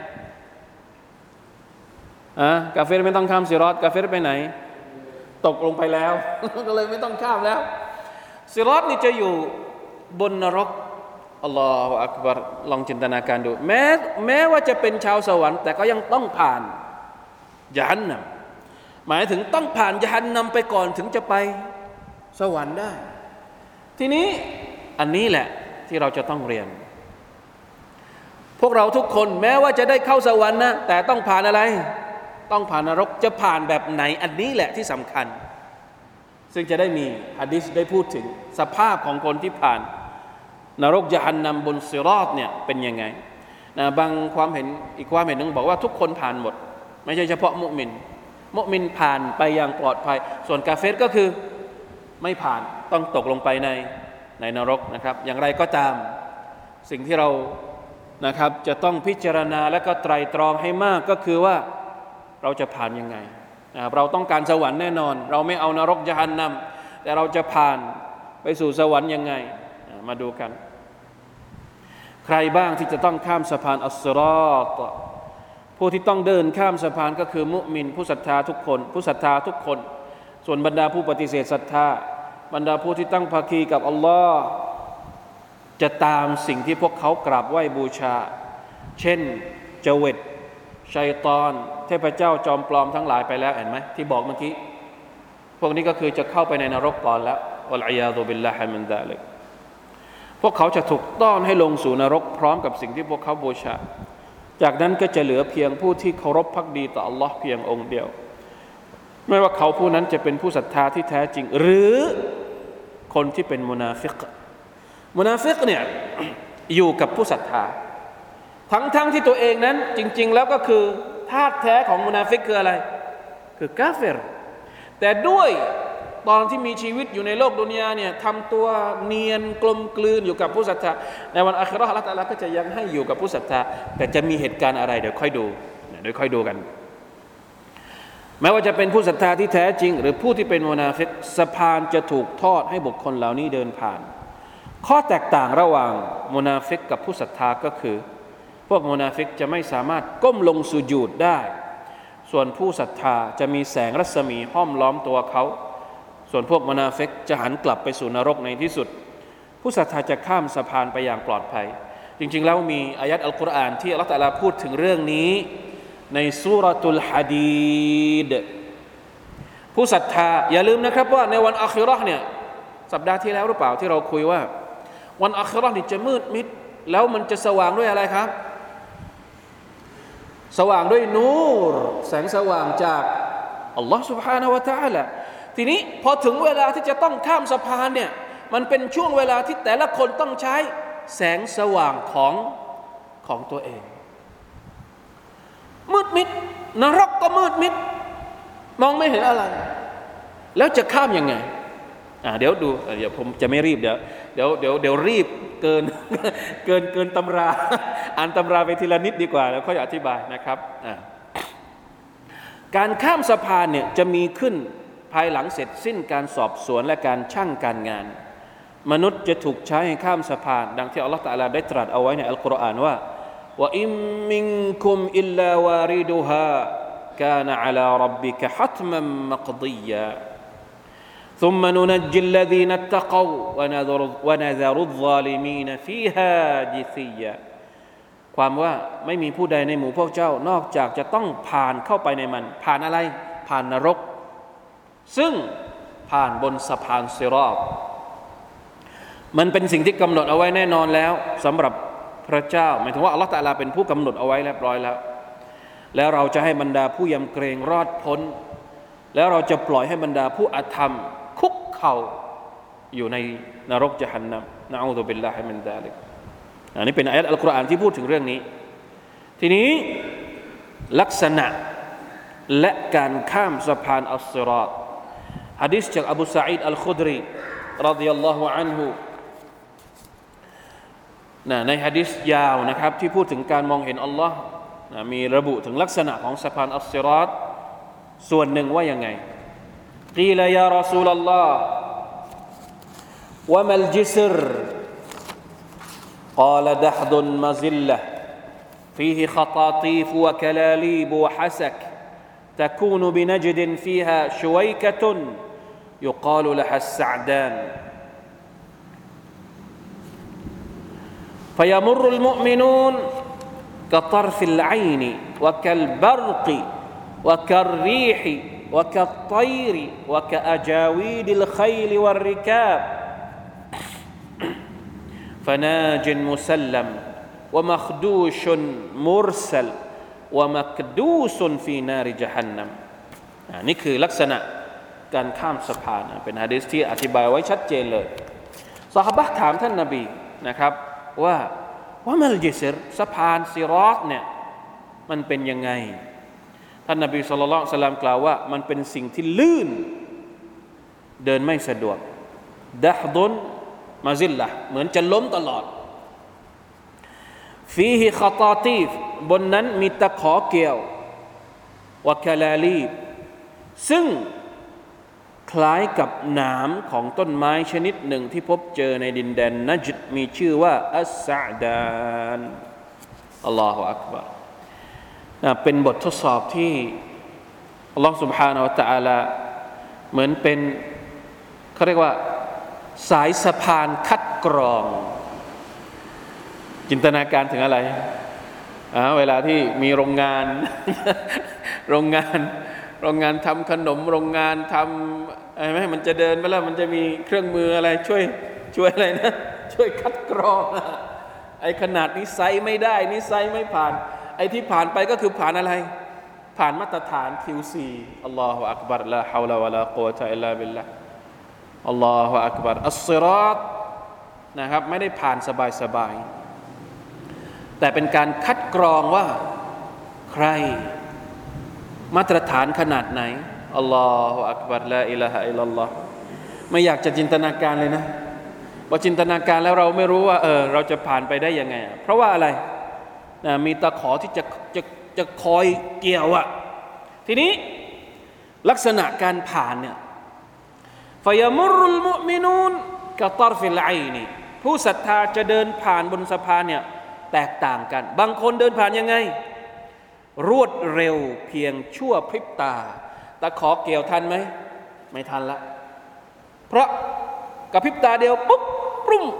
กาเฟรไม่ต้องข้ามซิรอตกาเฟรไปไหนตกลงไปแล้ว ก็เลยไม่ต้องข้ามแล้วซิรอตนี่จะอยู่บนนรกอัลลอฮฺอักบัรลองจินตนาการดูแม้ว่าจะเป็นชาวสวรรค์แต่ก็ยังต้องผ่านยะฮันนัมหมายถึงต้องผ่านยะฮันนัมไปก่อนถึงจะไปสวรรค์ได้ทีนี้อันนี้แหละที่เราจะต้องเรียนพวกเราทุกคนแม้ว่าจะได้เข้าสวรรค์นะแต่ต้องผ่านอะไรต้องผ่านนรกจะผ่านแบบไหนอันนี้แหละที่สำคัญซึ่งจะได้มีหะดีษได้พูดถึงสภาพของคนที่ผ่านนรกยะฮันนัมบนซิรอตเนี่ยเป็นยังไงนะบางความเห็นอีกความเห็นหนึ่งบอกว่าทุกคนผ่านหมดไม่ใช่เฉพาะมุมินผ่านไปอย่างปลอดภัยส่วนกาเฟรก็คือไม่ผ่านต้องตกลงไปในนรกนะครับอย่างไรก็ตามสิ่งที่เรานะครับจะต้องพิจารณาและก็ไตร่ตรองให้มากก็คือว่าเราจะผ่านยังไงเราต้องการสวรรค์แน่นอนเราไม่เอานรกยะฮันนัมแต่เราจะผ่านไปสู่สวรรค์ยังไงมาดูกันใครบ้างที่จะต้องข้ามสะพานอัสซิรอตผู้ที่ต้องเดินข้ามสะพานก็คือมุมินผู้ศรัทธาทุกคนส่วนบรรดาผู้ปฏิเสธศรัทธาบรรดาผู้ที่ตั้งภาคีกับอัลลอฮ์จะตามสิ่งที่พวกเขากราบไหว้บูชาเช่นเจวิตชัยฏอนเทพเจ้าจอมปลอมทั้งหลายไปแล้วเห็นไหมที่บอกเมื่อกี้พวกนี้ก็คือจะเข้าไปในนรกก่อนแล้ววัลอียาซุบิลลาฮิมินซาลิกพวกเขาจะถูกต้อนให้ลงสู่นรกพร้อมกับสิ่งที่พวกเขาบูชาจากนั้นก็จะเหลือเพียงผู้ที่เคารพภักดีต่ออัลลอฮ์เพียงองค์เดียวไม่ว่าเขาผู้นั้นจะเป็นผู้ศรัทธาที่แท้จริงหรือคนที่เป็นมุนาฟิกเนี่ย อยู่กับผู้ศรัทธาทั้งที่ตัวเองนั้นจริงๆแล้วก็คือธาตุแท้ของมุนาฟิกคืออะไรคือกาเฟรแต่ด้วยตอนที่มีชีวิตอยู่ในโลกดุนยาเนี่ยทำตัวเนียนกลมกลืนอยู่กับผู้ศรัทธาในวันอาคิเราะห์อัลเลาะห์ตะอาลาก็จะยังให้อยู่กับผู้ศรัทธาแต่จะมีเหตุการณ์อะไรเดี๋ยวค่อยดูกันแม้ว่าจะเป็นผู้ศรัทธาที่แท้จริงหรือผู้ที่เป็นมุนาฟิกสะพานจะถูกทอดให้บุคคลเหล่านี้เดินผ่านข้อแตกต่างระหว่างมุนาฟิกกับผู้ศรัทธาก็คือพวกมุนาฟิกจะไม่สามารถก้มลงสุญูดได้ส่วนผู้ศรัทธาจะมีแสงรัศมีห้อมล้อมตัวเขาส่วนพวกมุนาฟิกจะหันกลับไปสู่นรกในที่สุดผู้ศรัทธาจะข้ามสะพานไปอย่างปลอดภัยจริงๆแล้วมีอายัดอัลกุรอานที่อัลเลาะห์ตะอาลาพูดถึงเรื่องนี้ในซูเราะตุลหะดีดผู้ศรัทธาอย่าลืมนะครับว่าในวันอาคิเราะห์เนี่ยสัปดาห์ที่แล้วหรือเปล่าที่เราคุยว่าวันอาคิเราะห์นี่จะมืดมิดแล้วมันจะสว่างด้วยอะไรครับสว่างด้วยนูรแสงสว่างจากอัลลอฮฺ سبحانه และ تعالى ทีนี้พอถึงเวลาที่จะต้องข้ามสะพานเนี่ยมันเป็นช่วงเวลาที่แต่ละคนต้องใช้แสงสว่างของตัวเองมืดมิดนรกก็มืดมิดมองไม่เห็นอะไรแล้วจะข้ามยังไงเดี๋ยวดูเดี๋ยวผมจะไม่รีบเดี๋ยวรีบเกินตำราอ่านตำราไปทีละนิดดีกว่าแล้วค่อยอธิบายนะครับการข้ามสะพานเนี่ยจะมีขึ้นภายหลังเสร็จสิ้นการสอบสวนและการชั่งการงานมนุษย์จะถูกใช้ให้ข้ามสะพานดังที่อัลลอฮฺตะอาลาได้ตรัสเอาไว้ในอัลกุรอานว่าว่าอิมมินคุมอิลลาวาริดุฮากานะอะลาร็อบบิกะฮัตมันมักฎียาثم ننجي الذين اتقوا ونذر الظالمين فيها جثيا ความว่าไม่มีผู้ใดในหมู่พวกเจ้านอกจากจะต้องผ่านเข้าไปในมันผ่านอะไรผ่านนรกซึ่งผ่านบนสะพานซิรอตมันเป็นสิ่งที่กำหนดเอาไว้แน่นอนแล้วสำหรับพระเจ้าหมายถึงว่าอัลเลาะห์ตะอาลาเป็นผู้กำหนดเอาไว้เรียบร้อยแล้วเราจะให้บรรดาผู้ยำเกรงรอดพ้นแล้วเราจะปล่อยให้บรรดาผู้อธรรมคุกเข่าอยู่ในนรกญะฮันนัมนะอูซุบิลลาฮิมินซาลิกอันนี้เป็นอายะห์อัลกุรอานที่พูดถึงเรื่องนี้ทีนี้ลักษณะและการข้ามสะพานอัสซิรอฏหะดีษจากอบูซะอีดอัลคุดรีรอฎิยัลลอฮุอันฮุในหะดีษยาวนะครับที่พูดถึงการมองเห็นอัลลอฮ์มีระบุถึงลักษณะของสะพานอัสซิรอฏส่วนหนึ่งว่ายังไงกีลายารอซูลัลลอฮ์วะมัลจิสรقال دحض مزلة فيه خطاطيف وكلاليب وحسك تكون بنجد فيها شويكة يقال لها السعدان فيمر المؤمنون كطرف العين وكالبرق وكالريح وكالطير وكأجاويد الخيل والركاب فناج مسلم ومخدوش مرسل ومكدوس في نار جهنم นี่คือลักษณะการข้ามสะพานเป็นหะดีษที่อธิบายไว้ชัดเจนเลยซอฮาบะห์ถามท่านนบีนะครับว่ามัลจิสรสะพานซิรอฏเนี่ยมันเป็นยังไงท่านนบีศ็อลลัลลอฮุอะลัยฮิวะซัลลัมกล่าวว่ามันเป็นสิ่งที่ลื่นเดินไม่สะดวกดะฮดุนมาซิลละเหมือนจะล้มตลอดฟีฮิคอตาตีฟบนนั้นมีตะขอเกี่ยววะคาลาลีบซึ่งคล้ายกับหนามของต้นไม้ชนิดหนึ่งที่พบเจอในดินแดนนัจดมีชื่อว่าอัสซะดานอัลลอฮฺอักบัรเป็นบททดสอบที่อัลลอฮฺ سبحانه และ تعالى เหมือนเป็นเขาเรียกว่าสายสะพานคัดกรองจินตนาการถึงอะไรเวลาที่มีโรงงาน โรงงานทำขนมโรงงานทำอะไรไหมมันจะเดินไปแล้วมันจะมีเครื่องมืออะไรช่วยอะไรนะช่วยคัดกรองไอ้ขนาดนี้ไซส์ไม่ได้นี่ไซส์ไม่ผ่านไอ้ที่ผ่านไปก็คือผ่านอะไรผ่านมาตรฐาน QC อัลลอฮฺอักบัรลาฮาวลาวะลากุวะตะอิลลาบิลลาห์อัลลอฮฺอักบัรอัสซิรอฏนะครับไม่ได้ผ่านสบายแต่เป็นการคัดกรองว่าใครมาตรฐานขนาดไหนอัลลอฮฺอักบัรลาอิลาฮะอิลลัลลอฮ์ไม่อยากจะจินตนาการเลยนะพอจินตนาการแล้วเราไม่รู้ว่าเราจะผ่านไปได้ยังไงเพราะว่าอะไรมีตะขอที่จะคอยเกี่ยวทีนี้ลักษณะการผ่านเนี่ยฟยมุรุลมุมินูนกะตรฟิลไอนีผู้ศรัทธาจะเดินผ่านบนสะพานเนี่ยแตกต่างกันบางคนเดินผ่านยังไงรวดเร็วเพียงชั่วพริบตาตะขอเกี่ยวทันไหมไม่ทันละเพราะกับพริบตาเดียวปุ๊บปุ้ม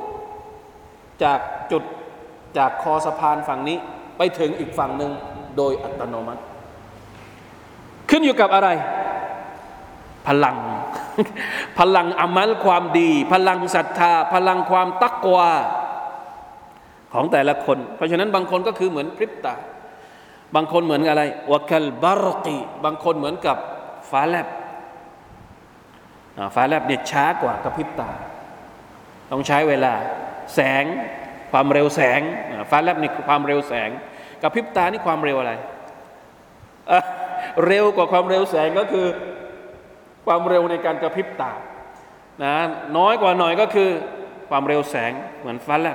จากคอสะพานฝั่งนี้ไปถึงอีกฝั่งหนึ่งโดยอัตโนมัติขึ้นอยู่กับอะไรพลัง พลังอามัลความดีพลังศรัทธาพลังความตักวาของแต่ละคนเพราะฉะนั้นบางคนก็คือเหมือนพริบตาบางคนเหมือนอะไรวะกัลบารกีบางคนเหมือนกับฟ้าแลบเนี่ยช้ากว่ากระพริบตาต้องใช้เวลาแสงความเร็วแสงฟ้าแลบนี่ความเร็วแสงกระพริบตานี่ความเร็วอะไรเร็วกว่าความเร็วแสงก็คือความเร็วในการกระพริบตานะน้อยกว่าหน่อยก็คือความเร็วแสงเหมือนฟ้าแล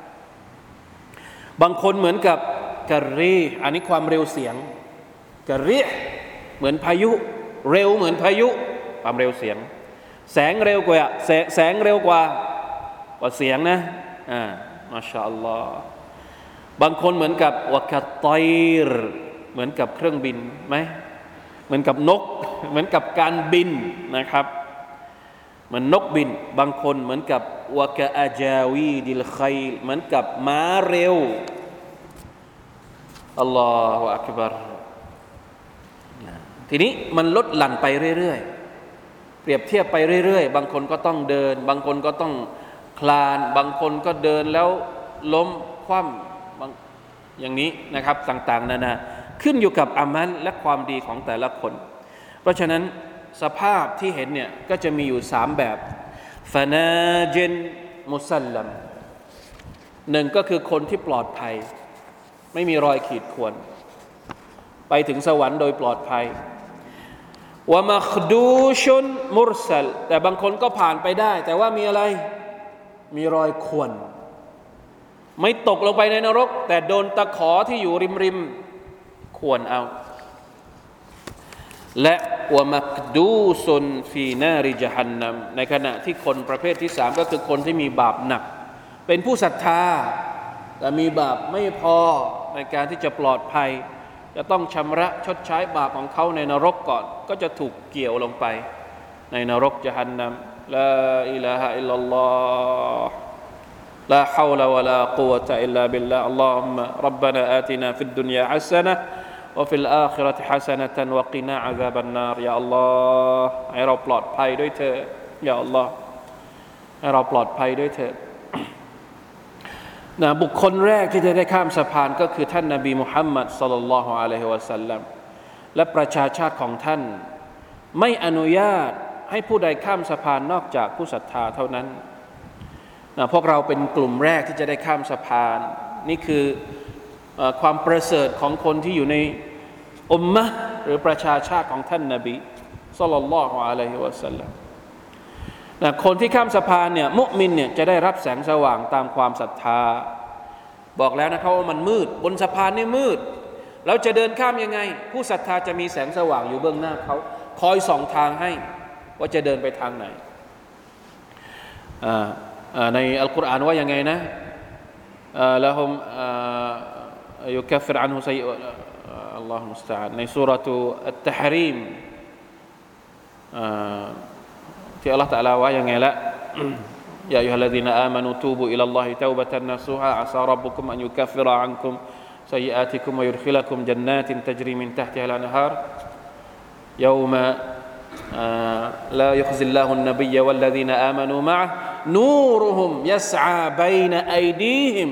บบางคนเหมือนกับกะรีอันนี้ความเร็วเสียงกะรีเหมือนพายุเร็วเหมือนพายุความเร็วเสียงแสงเร็วกว่าแสงเร็วกว่าเสียงนะมาชาอัลลอฮ์บางคนเหมือนกับวะกะตอยรเหมือนกับเครื่องบินไหมเหมือนกับนกเหมือนกับการบินนะครับเหมือนนกบินบางคนเหมือนกับวะกะอาจาวีดิลคัยเหมือนกับม้าเร็วอัลลอฮฺอักบัรทีนี้มันลดหลั่นไปเรื่อยๆเปรียบเทียบไปเรื่อยๆบางคนก็ต้องเดินบางคนก็ต้องคลานบางคนก็เดินแล้วล้มคว่ำอย่างนี้นะครับต่างๆนานาขึ้นอยู่กับอามัลและความดีของแต่ละคนเพราะฉะนั้นสภาพที่เห็นเนี่ยก็จะมีอยู่3แบบฟานาเจนมุซัลลัมหนึ่งก็คือคนที่ปลอดภัยไม่มีรอยขีดข่วนไปถึงสวรรค์โดยปลอดภัยวะมัคดูชุนมุรซัลแต่บางคนก็ผ่านไปได้แต่ว่ามีอะไรมีรอยข่วนไม่ตกลงไปในนรกแต่โดนตะขอที่อยู่ริมข่วนเอาและวะมักดูซุนฟีนาริญะฮันนัมในขณะที่คนประเภทที่3ก็คือคนที่มีบาปหนักเป็นผู้ศรัทธาแต่มีบาปไม่พอในการที่จะปลอดภัยจะต้องชำระชดใช้บาปของเขาในนรกก่อนก็จะถูกเกี่ยวลงไปในนรกญะฮันนัมลาอิลาฮะอิลลัลลอฮ์ลาฮาวละวะลากุวะตะอิลลาบิลลาฮ์อัลลอฮุมมะร็อบบานาอาตินาฟิดดุนยาฮัสซะนะห์وفي الآخرة حسنة وقنا عذاب النار يا الله ให้เราปลอดภัยด้วยเถิดยาอัลลอฮ์ให้เราปลอดภัยด้วยเถิดบุคคลแรกที่จะได้ข้ามสะพานก็คือท่านนบีมุฮัมมัดศ็อลลัลลอฮุอะลัยฮิวะซัลลัมและประชาชาติของท่านไม่อนุญาตให้ผู้ใดข้ามสะพานนอกจากผู้ศรัทธาเท่านั้นพวกเราเป็นกลุ่มแรกที่จะได้ข้ามสะพานนี่คือความประเสริฐของคนที่อยู่ในอุมมะห์หรือประชาชาติของท่านนบีศ็อลลัลลอฮุอะลัยฮิวะซัลลัมคนที่ข้ามสะพานเนี่ยมุมินเนี่ยจะได้รับแสงสว่างตามความศรัทธาบอกแล้วนะครับว่ามันมืดบนสะพานนี่มืดแล้วจะเดินข้ามยังไงผู้ศรัทธาจะมีแสงสว่างอยู่เบื้องหน้าเขาคอยส่องทางให้ว่าจะเดินไปทางไหนในอัลกุรอานว่ายังไงนะละฮุมيكفر عنه سيئ الله المستعان ในซูเราะตุอัตตะฮรีมที่อัลเลาะห์ตะอาลาว่ายังไงละยาอัยยูฮัลลซีนาอามานูตูบูอิลัลลอฮิตอบัตันนะซูฮาอะซาร็อบบุกุมอันยุกัฟฟิรอันกุมسيئاتكم ويدخلكم جنات تجري من تحتها الأنهار يوم لا يخزي الله النبي والذين آمنوا معه نورهم يسعى بين أيديهم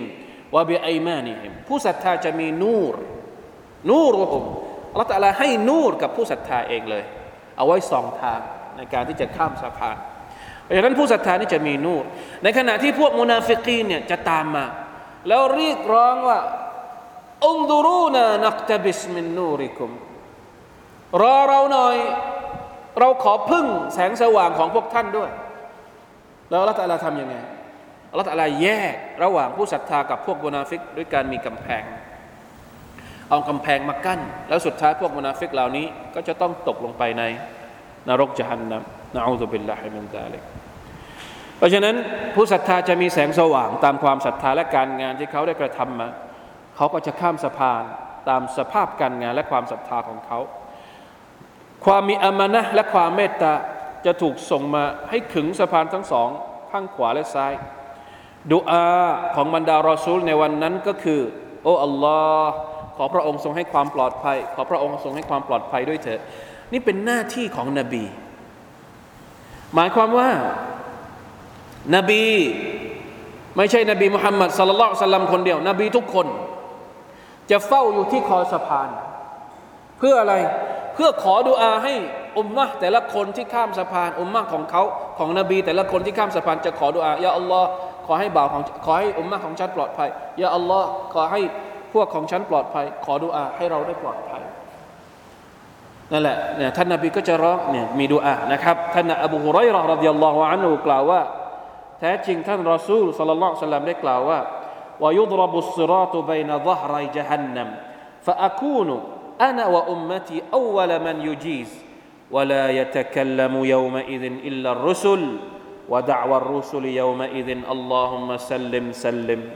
وبأيمانهم ผู้ศรัทธาจะมีนูรุฮุมอัลเลาะห์ตะอาลาให้นูรกับผู้ศรัทธาเองเลยเอาไว้ส่องทางในการที่จะข้ามสะพานเพราะฉะนั้นผู้ศรัทธานี่จะมีนูรในขณะที่พวกมุนาฟิกีนเนี่ยจะตามมาแล้วเรียกร้องว่าอุนดุรูนานักตะบิสมินนูริกุมรอเราหน่อยเราขอพึ่งแสงสว่างของพวกท่านด้วยแล้วอัลเลาะห์ตะอาลาทำยังไงอัลเลาะห์ตะอาลาแยกระหว่างผู้ศรัทธากับพวกมุนาฟิกด้วยการมีกำแพงเอากำแพงมากั้นแล้วสุดท้ายพวกมุนาฟิกเหล่านี้ก็จะต้องตกลงไปในนรกญะฮันนัมนะอูซุบิลลาฮิมินซาลิกเพราะฉะนั้นผู้ศรัทธาจะมีแสงสว่างตามความศรัทธาและการงานที่เขาได้กระทำมาเขาก็จะข้ามสะพานตามสภาพการงานและความศรัทธาของเขาความมีอามานะห์และความเมตตาจะถูกส่งมาให้ขึงสะพานทั้งสองข้างขวาและซ้ายดุอาของบรรดารอซูลในวันนั้นก็คือโอ้อัลลอฮ์ขอพระองค์ทรงให้ความปลอดภัยขอพระองค์ทรงให้ความปลอดภัยด้วยเถิดนี่เป็นหน้าที่ของนบีหมายความว่านบีไม่ใช่นบีมุฮัมมัดศ็อลลัลลอฮุอะลัยฮิวะซัลลัมคนเดียวนบีทุกคนจะเฝ้าอยู่ที่คอสะพานเพื่ออะไรเพื่อขอดุอาให้อุมมะห์แต่ละคนที่ข้ามสะพานอุมมะห์ของเขาของนบีแต่ละคนที่ข้ามสะพานจะขอดุอายาอัลลอฮ์ขอให้บ่าวของขอให้อุมมะห์ของฉันปลอดภัยยาอัลลอฮ์ขอให้พวกของฉันปลอดภัยขอดุอาให้เราได้ปลอดภัยนั่นแหละเนี่ยท่านนบีก็จะร้องเนี่ยมีดุอานะครับท่านอบูฮุรอยเราะห์รอฎิยัลลอฮุอันฮุกล่าวว่าแท้จริงท่านรอซูลศ็อลลัลลอฮุอะลัยฮิวะซัลลัมได้กล่าวว่าวะยุฎรบุศศิรอตุบัยนะฎะฮรัยญะฮันนัมฟะอะกูนุอะนะวะอุมมะตีอัวละมันยุญีซวะลายัตะกัลลัมุยอมะอิซินอิลลัรรุสุลวะดะอวัรรุสุลยอมะอิซินอัลลอฮุมมะซัลลิมซัลลิม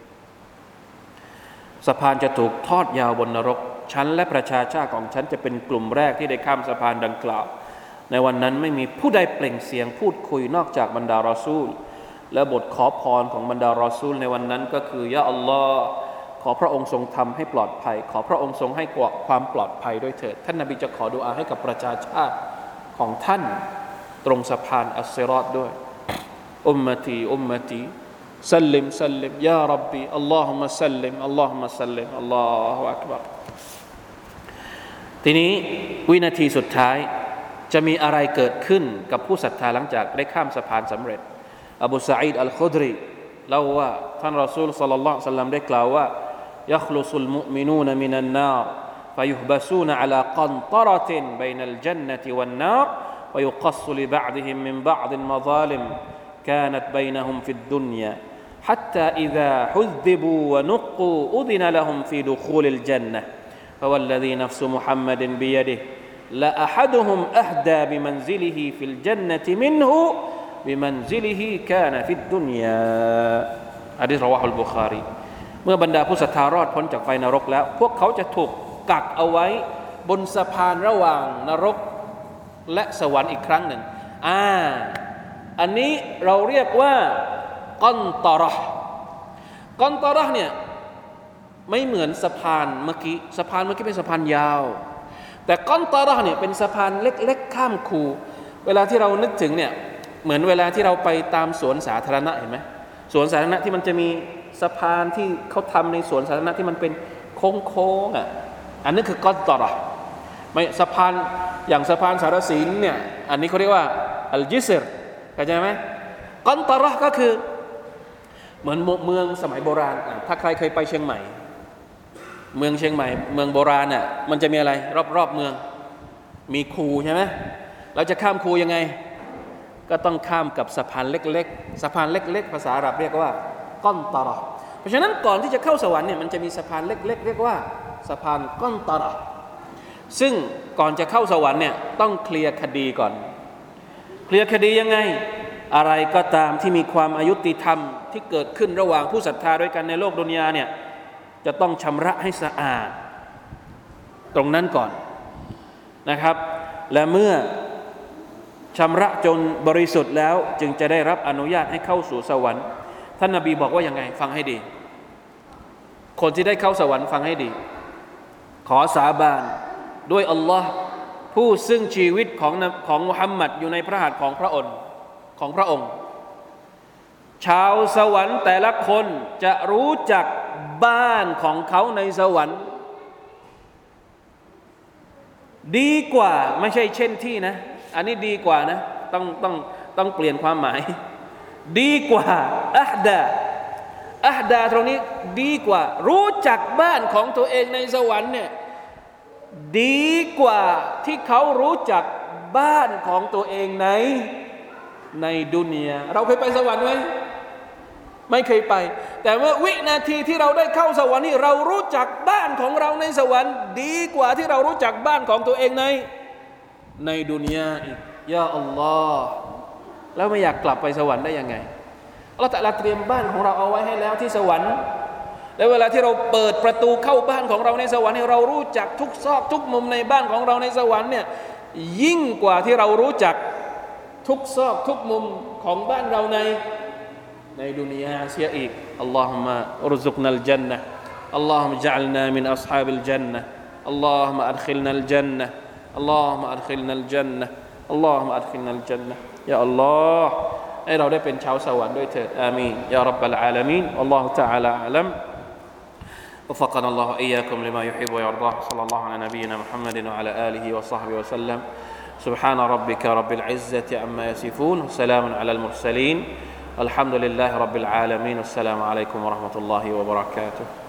สะพานจะถูกทอดยาวบนนรกฉันและประชาชาติของฉันจะเป็นกลุ่มแรกที่ได้ข้ามสะพานดังกล่าวในวันนั้นไม่มีผู้ใดเปล่งเสียงพูดคุยนอกจากบรรดารอซูลและบทขอพรของบรรดารอซูลในวันนั้นก็คือยาอัลลอฮ์ขอพระองค์ทรงทำให้ปลอดภัยขอพระองค์ทรงให้ความปลอดภัยด้วยเถิดท่านนบีจะขอดุอาให้กับประชาชาติของท่านตรงสะพานอัสซิรอตด้วยอุมมะตีอุมมะตีสัลลิมสัลลิมยาร็อบบีอัลลอฮุมะสัลลิมอัลลอฮุมะสัลลิมอัลลอฮุอักบัรทีนี้วินาทีสุดท้ายจะมีอะไรเกิดขึ้นกับผู้ศรัทธาหลังจากได้ข้ามสะพานสำเร็จอบูซะอีดอัลคุดรีเล่าว่าท่านรอซูลศ็อลลัลลอฮุอะลัยฮิวะซัลลัมได้กล่าวว่ายัคลุซุลมุอ์มินูนมินันนาร فيحبسون على قنطرة بين الجنة والنار ويقص لبعضهم من بعض مظالم كانت بينهم في الدنيا حتى إذا حذبوا ونقوا أذن لهم في دخول الجنة فوالذي نفس محمد بيده لأحدهم أهدى بمنزله في الجنة منه بمنزله كان في الدنيا หะดีษรอวาฮุลบุคารีเมื่อบรรดาผู้ศรัทธารอดพ้นจากไฟนรกแล้วพวกเขาจะถูกกักเอาไว้บนสะพานระหว่างนรกและสวรรค์อีกครั้งหนึ่งอันนี้เราเรียกว่ากัอนตอเราะห์กัอนตอเราะห์เนี่ยไม่เหมือนสะพานเมื่อกี้สะพานเมื่อกี้เป็นสะพานยาวแต่กัอนตอเราะห์เนี่ยเป็นสะพานเล็กๆข้ามคูเวลาที่เรานึกถึงเนี่ยเหมือนเวลาที่เราไปตามสวนสาธารณะเห็นไหมสวนสาธารณะที่มันจะมีสะพานที่เขาทำในสวนสาธารณะที่มันเป็นโค้งอันนี้คือกัอนตอเราะห์ไม่สะพานอย่างสะพานสารสินเนี่ยอันนี้เขาเรียกว่าอัลจิสรเข้าใจไหมกัอนตอเราะห์ก็คือเหมือนเมืองสมัยโบราณถ้าใครเคยไปเชียงใหม่เมืองเชียงใหม่เมืองโบราณน่ะมันจะมีอะไรรอบเมืองมีคูใช่ไหมเราจะข้ามคูยังไงก็ต้องข้ามกับสะพานเล็กๆสะพานเล็กๆภาษาอาหรับเรียกว่ากัอนตอเราะห์เพราะฉะนั้นก่อนที่จะเข้าสวรรค์เนี่ยมันจะมีสะพานเล็กๆเรียกว่าสะพานกัอนตอเราะห์ซึ่งก่อนจะเข้าสวรรค์เนี่ยต้องเคลียร์คดีก่อนเคลียร์คดียังไงอะไรก็ตามที่มีความอายุติธรรมที่เกิดขึ้นระหว่างผู้ศรัทธาด้วยกันในโลกดุนยาเนี่ยจะต้องชำระให้สะอาดตรงนั้นก่อนนะครับและเมื่อชำระจนบริสุทธิ์แล้วจึงจะได้รับอนุญาตให้เข้าสู่สวรรค์ท่านนบีบอกว่ายังไงฟังให้ดีคนที่ได้เข้าสวรรค์ฟังให้ดีขอสาบานด้วยอัลลอฮ์ผู้ซึ่งชีวิตของมุฮัมมัดอยู่ในพระหัตถ์ของพระองค์ชาวสวรรค์แต่ละคนจะรู้จักบ้านของเขาในสวรรค์ดีกว่าไม่ใช่เช่นที่นะอันนี้ดีกว่านะต้องเปลี่ยนความหมายดีกว่าอัฮดาตรงนี้ดีกว่ารู้จักบ้านของตัวเองในสวรรค์เนี่ยดีกว่าที่เขารู้จักบ้านของตัวเองในดุนยาเราเคยไปสวรรค์ไหมไม่เคยไปแต่เมื่อวินาทีที่เราได้เข้าสวรรค์นี่เรารู้จักบ้านของเราในสวรรค์ดีกว่าที่เรารู้จักบ้านของตัวเองในดุนยาอีกยาอัลลอฮ์แล้วไม่อยากกลับไปสวรรค์ได้ยังไงอัลลอฮ์ตะอาลาเตรียมบ้านของเราเอาไว้ให้แล้วที่สวรรค์แล้วเวลาที่เราเปิดประตูเข้าบ้านของเราในสวรรค์เรารู้จักทุกซอกทุกมุมในบ้านของเราในสวรรค์เนี่ยยิ่งกว่าที่เรารู้จักทุกซอกทุกมุมของบ้านเราในดุนยาเสียอีกอัลลอฮุมะอุรซุกนัลจันนะห์อัลลอฮุมะญะอัลนามินอัศฮาบิลจันนะห์อัลลอฮุมะอัดคิลนัลจันนะห์อัลลอฮุมะอัดคิลนัลจันนะห์อัลลอฮุมะอัดคิลนัลจันนะห์ยาอัลลอฮ์ให้เราได้เป็นชาวสวรรค์ด้วยเถิดอามีนยาร็อบบัลอาลามีนอัลลอฮุตะอาลาอะลัมوفقنا الله إياكم لما يحب ويرضاه صلى الله على نبينا محمد وعلى آله وصحبه وسلم سبحان ربك رب العزة عما يصفون وسلام على المرسلين الحمد لله رب العالمين والسلام عليكم ورحمة الله وبركاته